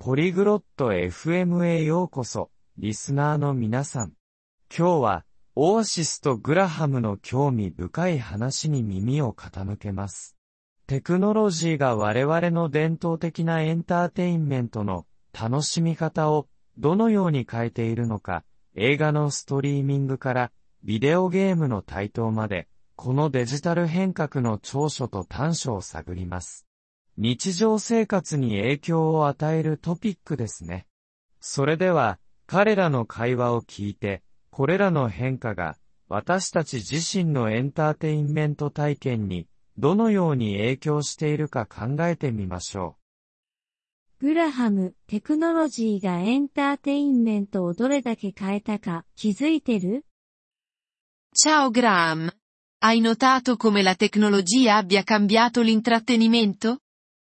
ポリグロット FM へようこそ、リスナーの皆さん。今日は、オアシスとグラハムの興味深い話に耳を傾けます。テクノロジーが我々の伝統的なエンターテインメントの楽しみ方をどのように変えているのか、映画のストリーミングからビデオゲームの台頭まで、このデジタル変革の長所と短所を探ります。日常生活に影響を与えるトピックですね。それでは、彼らの会話を聞いて、これらの変化が私たち自身のエンターテインメント体験にどのように影響しているか考えてみましょう。グラハム、テクノロジーがエンターテインメントをどれだけ変えたか気づいてる？ Ciao Graham. Hai notato come la tecnologia abbia cambiato l'intrattenimento?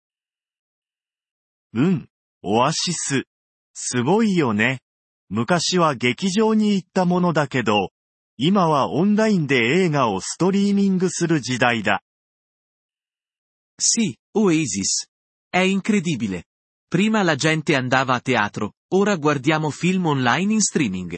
オアシス。すごいよね。昔は劇場に行ったものだけど、今はオンラインで映画をストリーミングする時代だ。 Sì, Oasis. È incredibile. Prima la gente andava a teatro, ora guardiamo film online in streaming.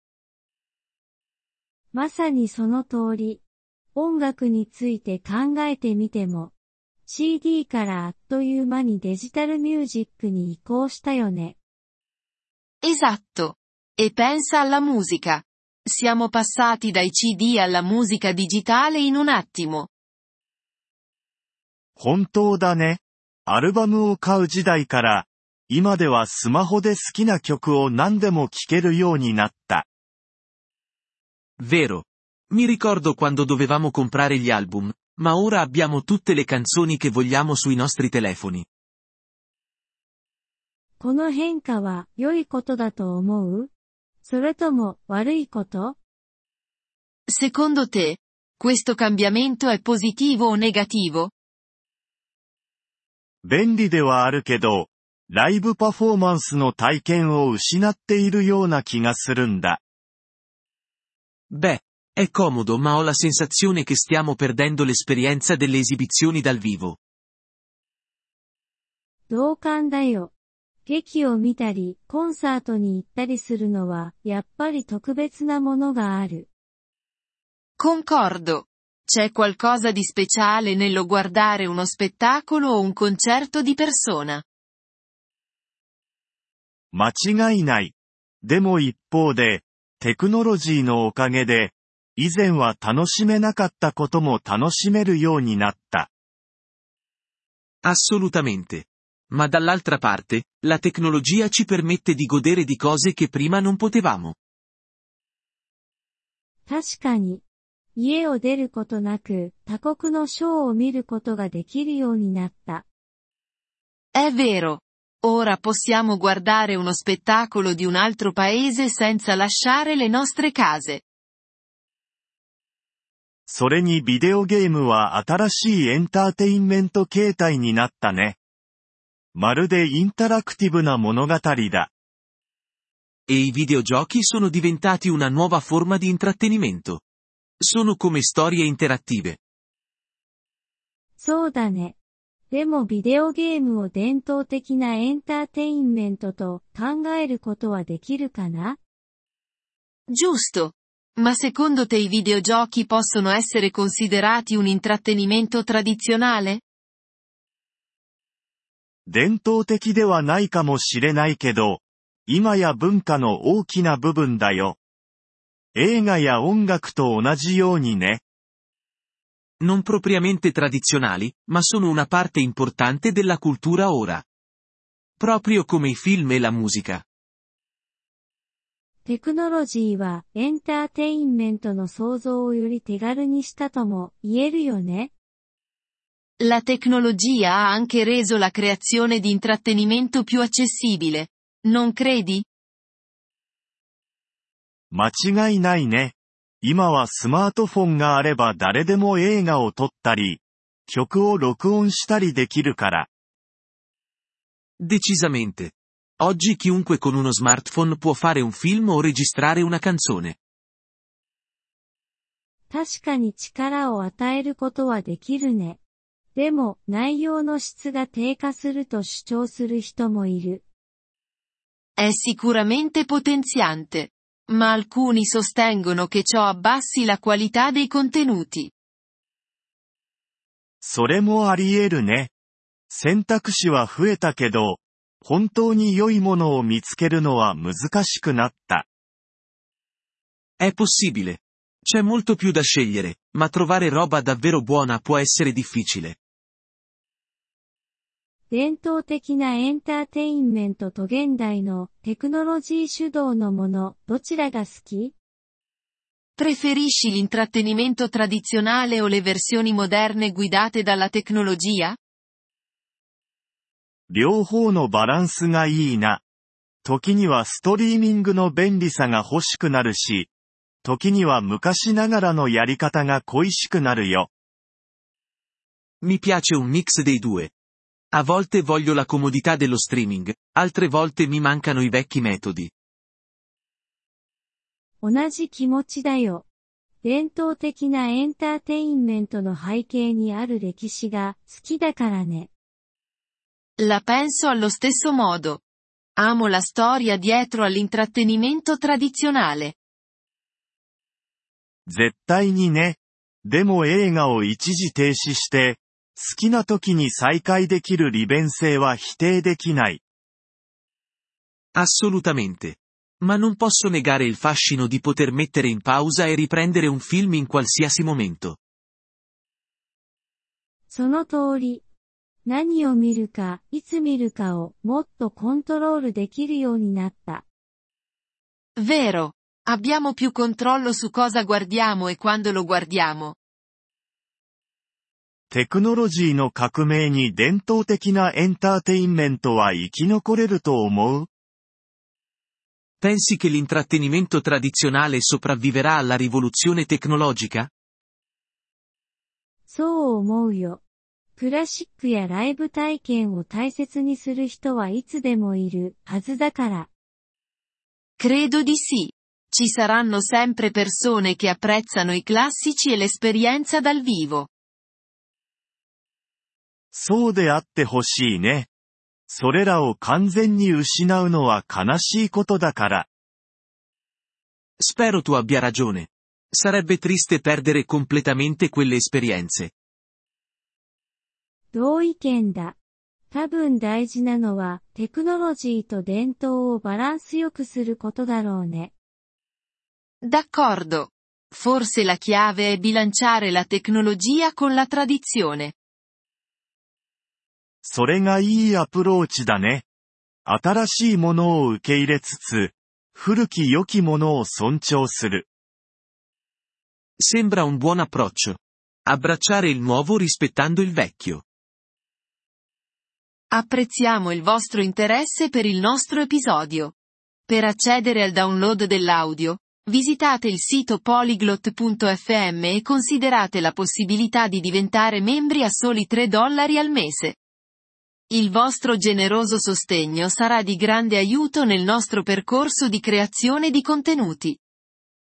まさにその通り。音楽について考えてみても、CD からあっという間にデジタルミュージックに移行したよね。 Esatto. E pensa alla musica. Siamo passati dai CD alla musica digitale in un attimo. 本当だね。アルバムを買う時代から、今ではスマホで好きな曲を何でも聴けるようになった。 Vero. Mi ricordo quando dovevamo comprare gli album, ma ora abbiamo tutte le canzoni che vogliamo sui nostri telefoni. この変化は良いことだと思う？それとも悪いこと？ Secondo te, questo cambiamento è positivo o negativo? 便利ではあるけど、ライブパフォーマンスの体験を失っているような気がするんだ。 Beh, è comodo ma ho la sensazione che stiamo perdendo l'esperienza delle esibizioni dal vivo. 同感だよ。劇を見たり、コンサートに行ったりするのは、やっぱり特別なものがある。 Concordo. C'è qualcosa di speciale nello guardare uno spettacolo o un concerto di persona. 間違いない。でも一方で、テクノロジーのおかげで、以前は楽しめなかったことも楽しめるようになった。 Assolutamente. Ma dall'altra parte, la tecnologia ci permette di godere di cose che prima non potevamo. 確かに。家を出ることなく、他国のショーを見ることができるようになった。 È vero. Ora possiamo guardare uno spettacolo di un altro paese senza lasciare le nostre case. それにビデオゲームは新しいエンターテインメント形態になったね。まるでインタラクティブな物語だ。 E i videogiochi sono diventati una nuova forma di intrattenimento. Sono come storie interattive. そうだね。でもビデオゲームを伝統的なエンターテインメントと考えることはできるかな？ Giusto. Ma secondo te i videogiochi possono essere considerati un intrattenimento tradizionale? 伝統的ではないかもしれないけど、今や文化の大きな部分だよ。映画や音楽と同じようにね。 Non propriamente tradizionali, ma sono una parte importante della cultura ora. Proprio come i film e la musica. テクノロジーはエンターテインメントの創造をより手軽にしたとも言えるよね。 La tecnologia ha anche reso la creazione di intrattenimento più accessibile. Non credi? 間違いないね。今はスマートフォンがあれば誰でも映画を撮ったり、曲を録音したりできるから。 Decisamente. Oggi chiunque con uno smartphone può fare un film o registrare una canzone. 確かに力を与えることはできるね。でも、内容の質が低下すると主張する人もいる。 È sicuramente potenziante. Ma alcuni sostengono che ciò abbassi la qualità dei contenuti. それもあり得るね。選択肢は増えたけど、本当に良いものを見つけるのは難しくなった。 È possibile. C'è molto più da scegliere, ma trovare roba davvero buona può essere difficile. 伝統的なエンターテインメントと現代のテクノロジー主導のもの、どちらが好き？ Preferisci l'intrattenimento tradizionale o le versioni moderne guidate dalla tecnologia? 両方のバランスがいいな。時にはストリーミングの便利さが欲しくなるし、時には昔ながらのやり方が恋しくなるよ。 Mi piace un mix dei due. A volte voglio la comodità dello streaming, altre volte mi mancano i vecchi metodi. 同じ気持ちだよ。伝統的なエンターテインメントの背景にある歴史が好きだからね。 La penso allo stesso modo. Amo la storia dietro all'intrattenimento tradizionale. 絶対にね。でも映画を一時停止して、好きな時に再開できる利便性は否定できない。 Assolutamente. Ma non posso negare il fascino di poter mettere in pausa e riprendere un film in qualsiasi momento. その通り。何を見るか、いつ見るかをもっとコントロールできるようになった。 Vero. Abbiamo più controllo su cosa guardiamo e quando lo guardiamo. テクノロジーの革命に伝統的なエンターテインメントは生き残れると思う？ Pensi che l'intrattenimento tradizionale sopravviverà alla rivoluzione tecnologica? そう思うよ。クラシックやライブ体験を大切にする人はいつでもいるはずだから。 Credo di sì. Ci saranno sempre persone che apprezzano i classici e l'esperienza dal vivo. そうであってほしいね。それらを完全に失うのは悲しいことだから。 Spero tu abbia ragione. Sarebbe triste perdere completamente quelle esperienze. 同意見だ。多分大事なのはテクノロジーと伝統をバランスよくすることだろうね。 D'accordo. Forse la chiave è bilanciare la tecnologia con la tradizione. それがいいアプローチだね。新しいものを受け入れつつ、古き良きものを尊重する。 Sembra un buon approccio. Abbracciare il nuovo rispettando il vecchio. Apprezziamo il vostro interesse per il nostro episodio. Per accedere al download dell'audio, visitate il sito polyglot.fm e considerate la possibilità di diventare membri a soli $3 al mese. Il vostro generoso sostegno sarà di grande aiuto nel nostro percorso di creazione di contenuti.